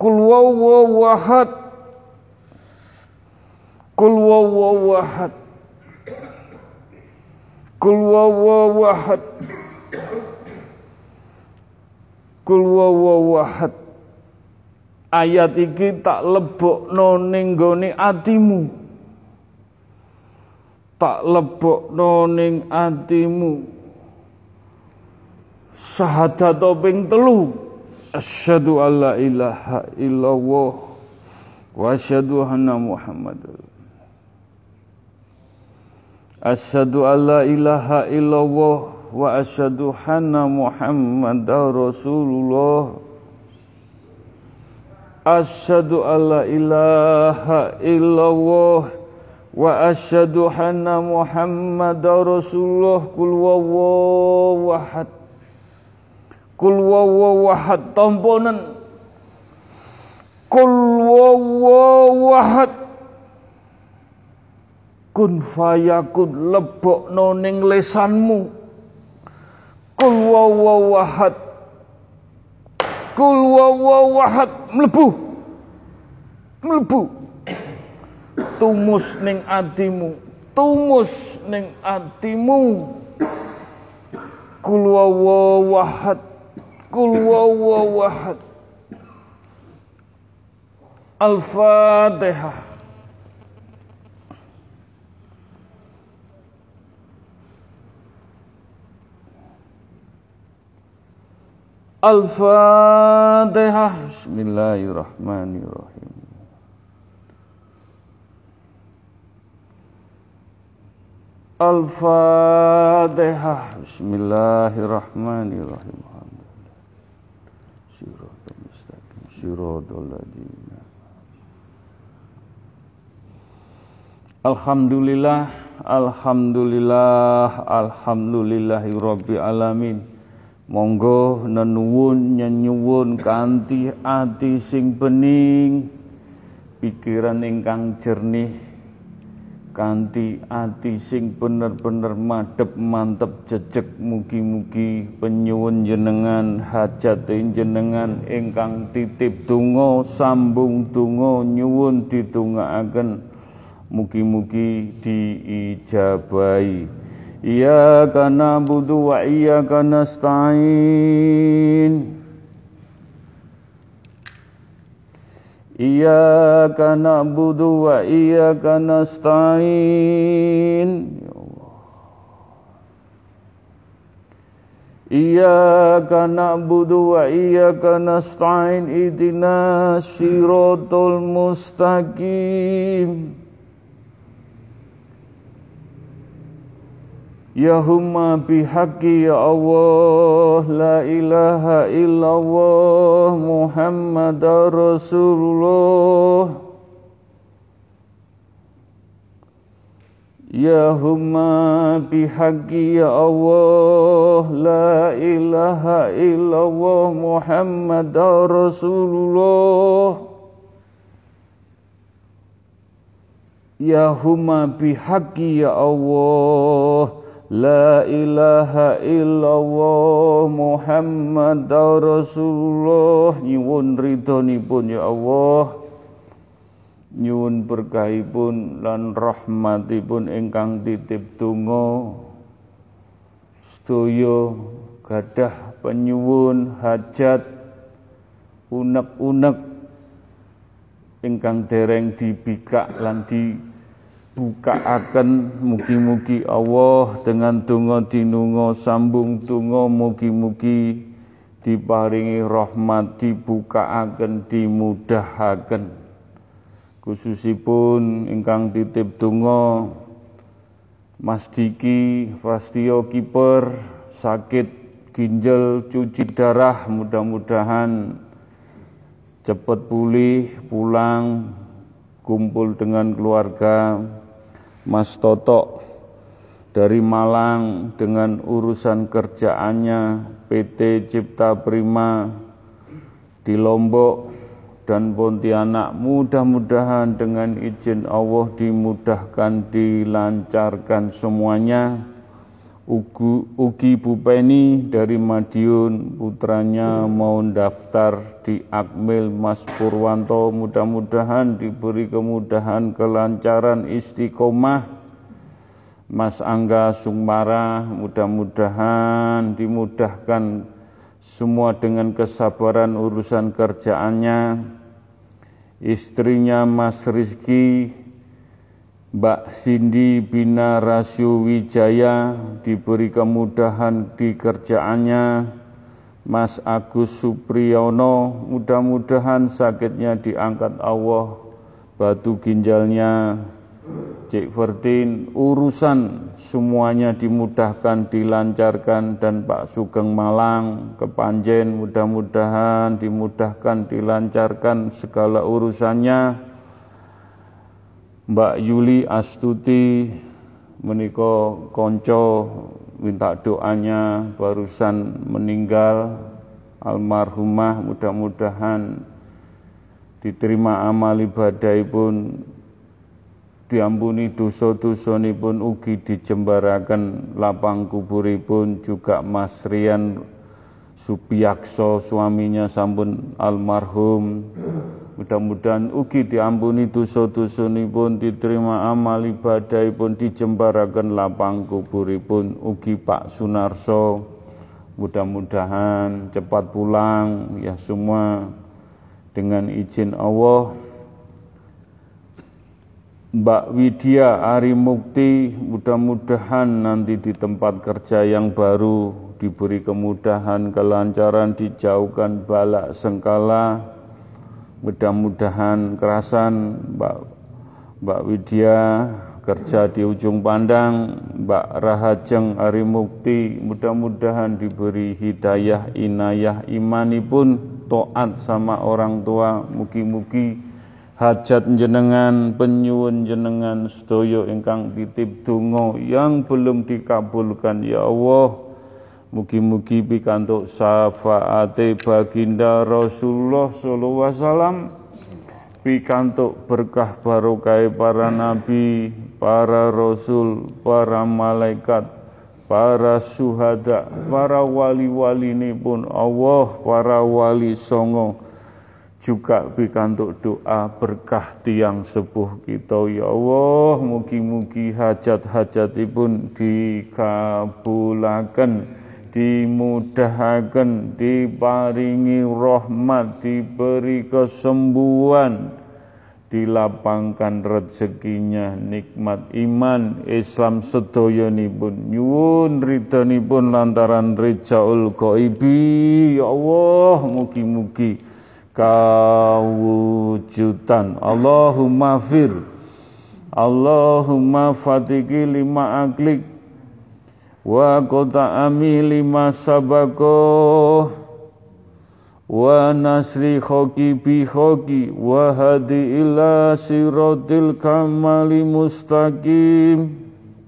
Qul huwallahu ahad. Qul huwallahu ahad. Qul huwallahu ahad. Qul huwallahu ahad. Ayat iki tak lebokno ning nggone atimu. Tak lebokno ning atimu. Syahadat ping 3. Asyhadu alla ilaha illallah wa asyhadu anna Muhammadar. Asyhadu alla ilaha illallah wa asyhadu anna Muhammadar Rasulullah. Asyhadu alla ilaha illallah wa asyhadu anna Muhammadar Rasulullah. Qul huwallahu ahad. Qul huwallahu ahad tamponen. Qul huwallahu ahad. Kun fayakun lebokno ning lesanmu. Qul huwallahu ahad. Qul huwallahu ahad mlebu. Tumus ning atimu. Qul huwallahu ahad. Qul huwallahu ahad. Al-Fatihah. Al-Fatihah. Bismillahirrahmanirrahim. Al-Fatihah. Bismillahirrahmanirrahim. Siratal mustaqim. Siratal ladzina. Alhamdulillah, alhamdulillahirabbil alamin. Monggo nyuwun kanthi ati sing bening, pikiran ingkang jernih, kanthi ati sing bener-bener madhep mantep jejeg. Mugi-mugi penyuwun jenengan, hajat jenengan ingkang titip donga, sambung donga nyuwun ditungakaken, mugi-mugi diijabahi. Iyyaka na'budu wa iyyaka nasta'in. Iyyaka na'budu wa iyyaka nasta'in. Ya Allah. Iyyaka na'budu wa iyyaka nasta'in. Ihdinas siratal mustaqim. Ya humma bihaqqi ya Allah, la ilaha illallah Muhammadar Rasulullah. Ya humma bihaqqi ya Allah, la ilaha illallah Muhammadar Rasulullah. Ya humma bihaqqi ya Allah, la ilaha illallah Muhammadar Rasulullah. Nyuwun ridhonipun ya Allah, nyuwun berkahipun lan rahmatipun ingkang titip donga. Sedaya gadah penyuwun hajat unek-unek ingkang dereng dibikak lan dibukaaken, mugi-mugi Allah dengan donga dinunga sambung donga, mugi-mugi diparingi rahmat, dibukaaken, dimudahaken. Khususipun ingkang titip donga Mas Diki Fastio Kiper sakit ginjal cuci darah, mudah-mudahan cepat pulih, pulang kumpul dengan keluarga. Mas Toto dari Malang dengan urusan kerjaannya PT Cipta Prima di Lombok dan Pontianak, mudah-mudahan dengan izin Allah dimudahkan, dilancarkan semuanya. Ugi Bupeni dari Madiun, putranya mau daftar di Akmil Mas Purwanto, mudah-mudahan diberi kemudahan, kelancaran, istiqomah. Mas Angga Sumara, mudah-mudahan dimudahkan semua dengan kesabaran urusan kerjaannya. Istrinya Mas Rizky, Mbak Cindy Bina Rasyo Wijaya, diberi kemudahan di kerjaannya. Mas Agus Supriyono, mudah-mudahan sakitnya diangkat Allah, batu ginjalnya. Cik Vertin, urusan semuanya dimudahkan, dilancarkan, dan Pak Sugeng Malang, Kepanjen, mudah-mudahan dimudahkan, dilancarkan segala urusannya. Mbak Yuli Astuti, menika konco, minta doanya, barusan meninggal, almarhumah, mudah-mudahan diterima amal ibadahipun, diampuni dosa-dosanipun, ugi dijembaraken lapang kuburipun. Juga Mas Rian Supiyakso, suaminya sampun almarhum, mudah-mudahan ugi diampuni dosa-dosanipun, diterima amal ibadahipun, dijembaraken lapang kuburipun. Ugi Pak Sunarso, mudah-mudahan cepat pulang ya semua dengan izin Allah. Mbak Widya Ari Mukti, mudah-mudahan nanti di tempat kerja yang baru diberi kemudahan, kelancaran, dijauhkan bala sengkala. Mudah-mudahan kerasan Mbak Widya kerja di ujung pandang. Mbak Rahajeng Ari Mukti, mudah-mudahan diberi hidayah, inayah, imanipun, taat sama orang tua. Mugi-mugi hajat jenengan, penyuwun jenengan sedaya ingkang titip donga yang belum dikabulkan ya Allah, mugi-mugi pikantuk syafaate baginda Rasulullah sallallahu alaihi wasallam, pikantuk berkah barokah para nabi, para rasul, para malaikat, para syuhada, para wali-walinipun Allah, para wali songo, juga pikantuk doa berkah tiang sepuh kita ya Allah, mugi-mugi hajat-hajatipun dikabulaken, dimudahaken, diparingi rahmat, diberi kesembuhan, dilapangkan rezekinya, nikmat iman Islam sedayanipun, nyuwun ridhanipun lantaran rijaul ghaibi ya Allah, mugi-mugi kawujudan. Allahumma fir, Allahumma fatiki lima aklik, wa qota'ami lima sabako, wa nasri khoki bi khoki, wa hadi ila siratil kamali mustaqim.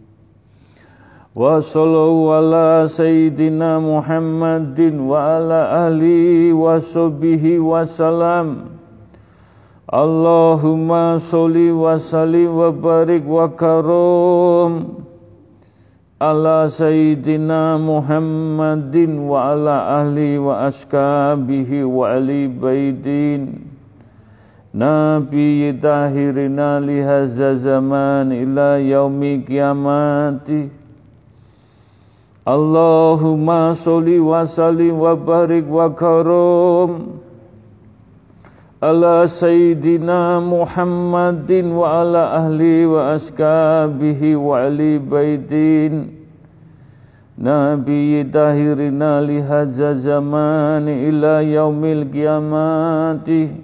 Wa sallallahu ala sayyidina Muhammadin wa ala ahli wa sahbihi wa salam. Allahumma sholli wa sallim wa barik wa karom ala sayyidina Muhammadin wa ala ahli wa ashabihi wa ali baitin Nabi tahirina lihaza zaman ila yaumi kiamati. Allahumma sholli wa sallim wa barik wa karom ala sayyidina Muhammadin wa ala ahli wa ashabihi wa ali baitin Nabi tahirina lihaza zaman ila yaumil qiyamati.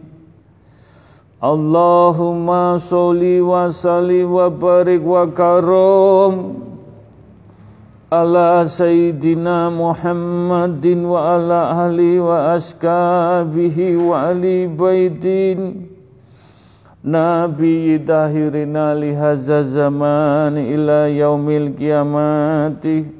Allahumma sholli wa sallim wa barik wa karom ala sayyidina Muhammadin wa ala ahli wa ashabihi wa ali baitin Nabi tahirina lihaza zaman ila yaumil qiyamati.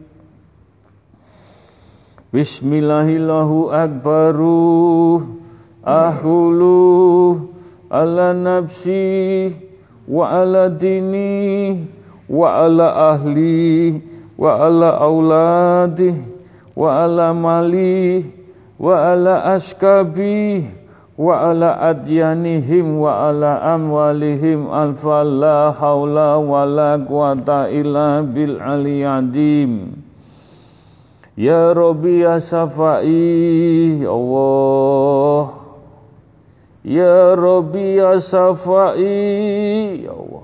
Bismillahillahu akbaru ahulu ala nafsi wa ala dini wa ala ahli wa ala auladi wa ala mali wa ala askabi wa ala adyanihim wa ala amwalihim alfa la haula wa la quwata illa bil aliyadim. Ya Rabbi ya Safai ya Allah, ya Rabbi ya Safai ya Allah,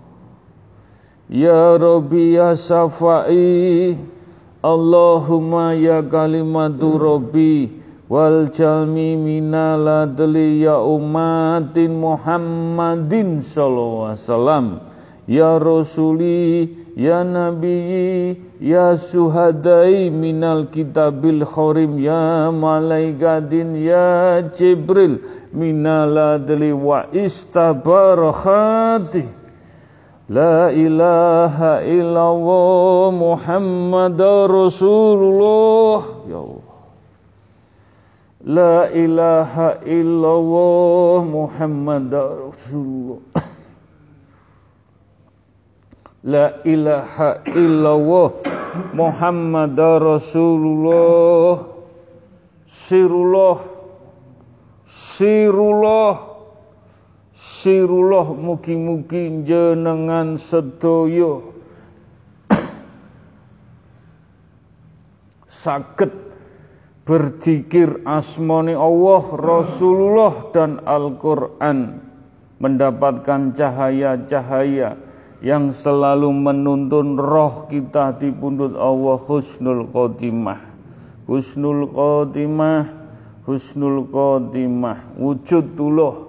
ya Rabbi ya Safai, Allahumma ya kalimatu Rabbi wal jalmi minal adli ya umatin Muhammadin sallallahu alaihi wasallam, ya Rasuli ya Nabi ya suhadai minal kitabil khorim ya malaikatin ya Jibril minal adli wa istabarakati. La ilaha illallah Muhammadar Rasulullah ya Allah. La ilaha illallah Muhammadar Rasulullah. La ilaha illallah Muhammadar Rasulullah. Sirullah mugi-mugi jenengan sedaya saged berzikir asmani Allah, Rasulullah dan Al-Quran, mendapatkan cahaya-cahaya yang selalu menuntun roh kita di pundut Allah. Husnul khotimah, husnul khotimah, husnul khotimah. Wujudullah,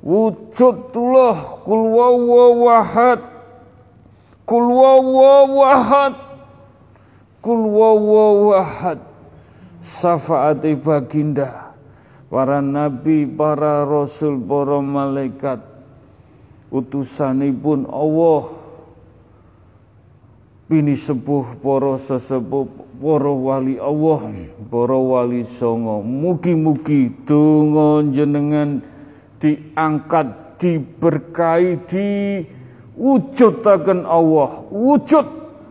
kul wawwahad, kul wawwahad, kul wawwahad. Syafaati baginda para nabi, para rasul, para malaikat, utusanipun Allah, bini sepuh para sesepuh, para wali Allah, para wali songo. Mugi-mugi donga jenengan diangkat, diberkahi, diwujudaken Allah, wujud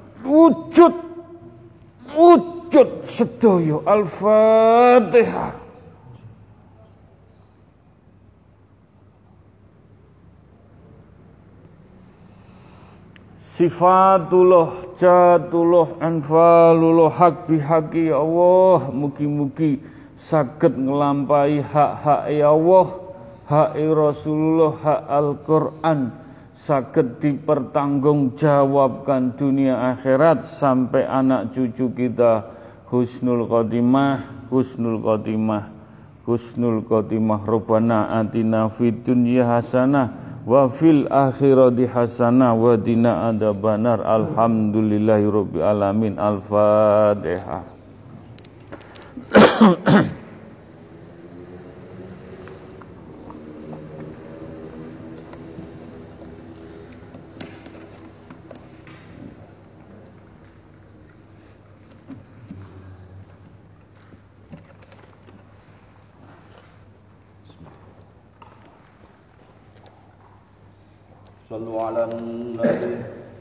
sedaya. Al-Fatihah. Sifatullah, jatullah, anfalullah, hak bihaqi ya Allah. Mugi-mugi saged nglampahi hak-hak ya Allah, hak Rasulullah, hak Al-Quran, saged dipertanggungjawabkan dunia akhirat sampai anak cucu kita. Husnul khotimah, husnul khotimah, husnul khotimah. Rabbana atina fid dunya hasanah wa fil akhirati hasanah wa qina adzabannar. Alhamdulillahirabbil alamin. Al-Fatihah. Sallu ala nabi.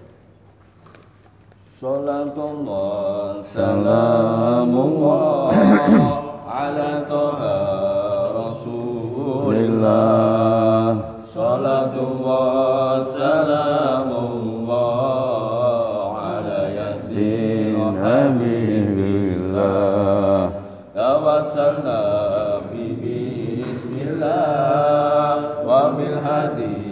Salatullah salamullah ala taha rasulillah. Salatullah salamullah ala yasin habibillah. Tawassalna bihi bismillah wa bil hadi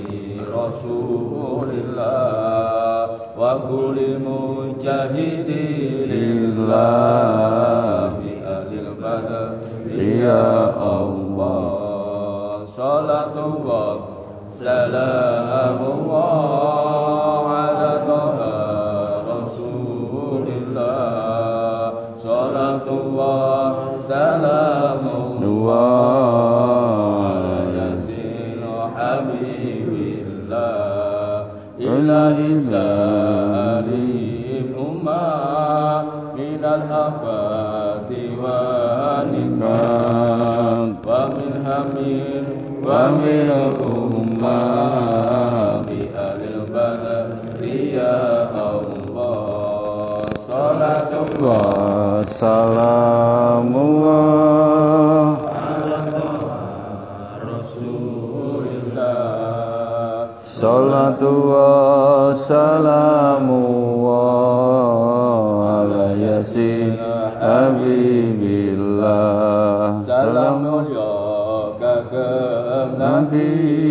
Rasulillah wa kulli mujahidin lillah bi alil badr ya Allah. Salatullah salamullah ala taha Rasulillah. Salatullah salamullah ala yasin habibillah. Ilahi salim ummah minal afati wa nikmat wa min hamir wa min ummah bi alil badri ya Allah. wa salamu salatu wa salamu ala yasin habibillah salamun ya kagem nabi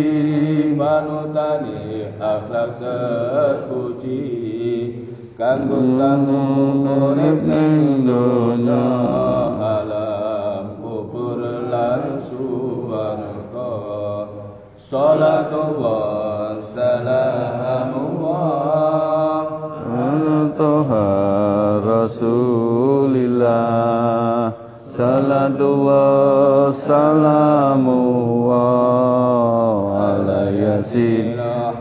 manutani akhlak terpuji kanggo sangu urip ning donya alam kubur lan swarga salatu wa salamu Toha Rasulillah salatu wa salamu ala yasin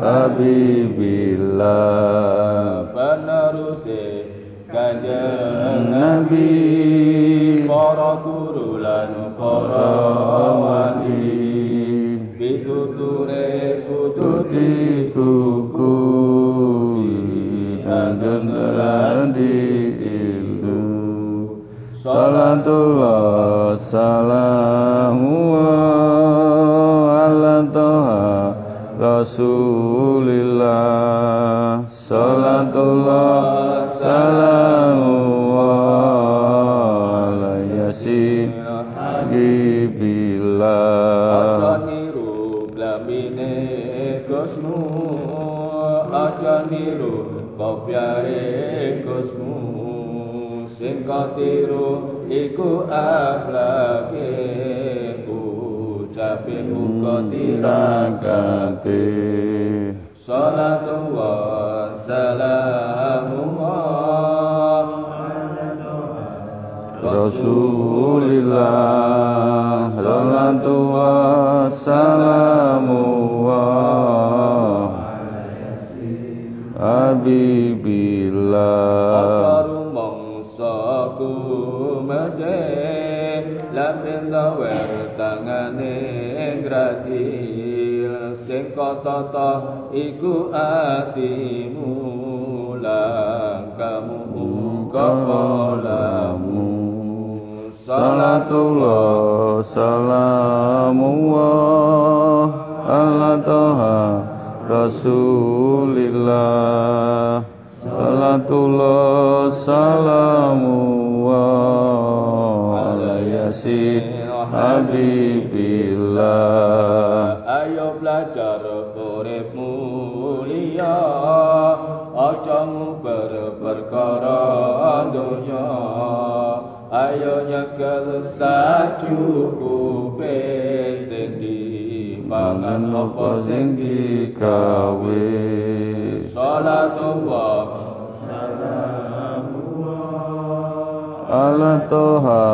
habibillah peneruse kanjeng Nabi para guru lan para wali pituture tuti kuku dan di ilmu salatullah salamu ala toha rasulillah salatullah salamu ala yasin habibillah aja niru kopyae Gusmu sing katiru iku akhlake ucape uga tirakate salatu wa salamu Rasulillah salatu wa salamu Habibillah mongso kumede lampir gawer tangane gratil sing katata iku atimu langkamu kepalamu salatullah salamu ala toha Rasulillah salatullah salamu ala yasin habibillah ayo belajar urip mulia aja nguber perkara donya ayo nyekel sacukupe sing pangan apa sing digawe salatullah salamu ala toha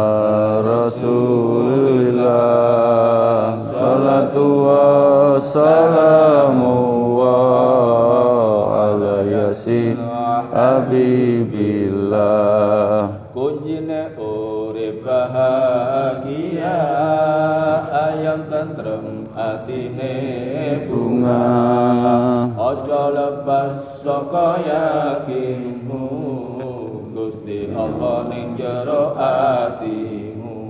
rasulillah salatu wa salamu ala yasin habibillah kuncine urip bahagia ayam tentrem atine bunga aja lepas saka yakinmu Gusti Allah ning jero atimu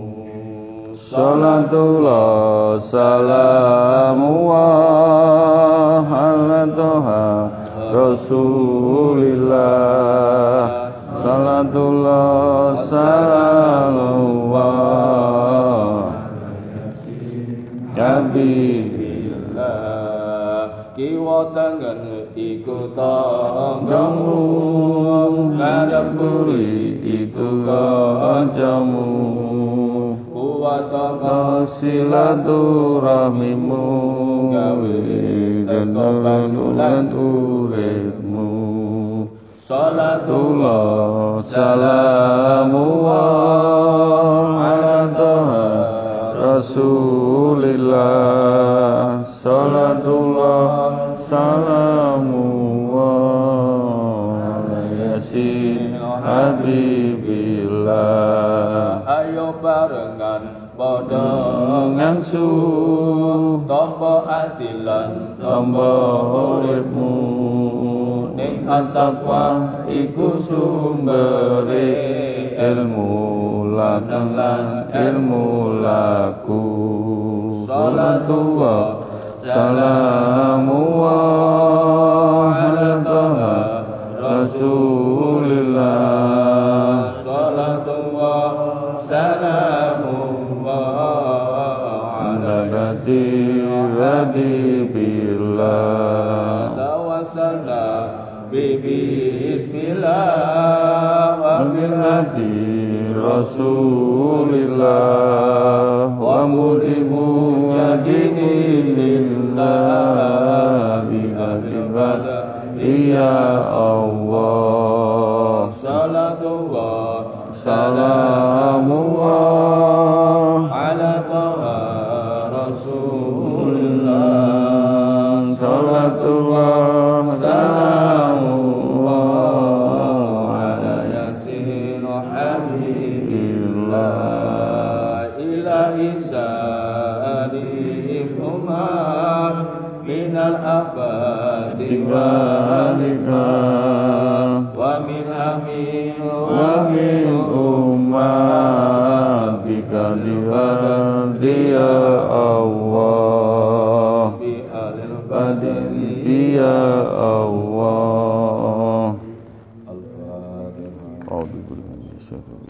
salatullah salamu ala toha Rasulillah salatullah salamu Habibillah kiwa tangan iku tanggamu ngadep buri itu kancamu kuat silaturahmimu gawe jenengan uripmu salatullah salamu ala toha Rasulillah salatullah salamu ala yasin habibillah ayo barengan padha ngangsu tampa atilan tampa uripmu ning at-taqwa iku sumbere ilmu lan ilmu laku. Salatullah salamullah ala taha Rasulillah. Salatullah salamullah ala kasirati billah. Tawassalna bismillah wa bil hadi Rasulillah wa mulimu yadini lillah bi ya Allah. Salatullah salamullah ala taha Rasulillah. Salatullah salamullah ala yasin habibillah. Ilahi sa'alihuma minal abadi walika wa min amin wa min ummatika dia Allah bi alil badri ya Allah. Al-Fatihah.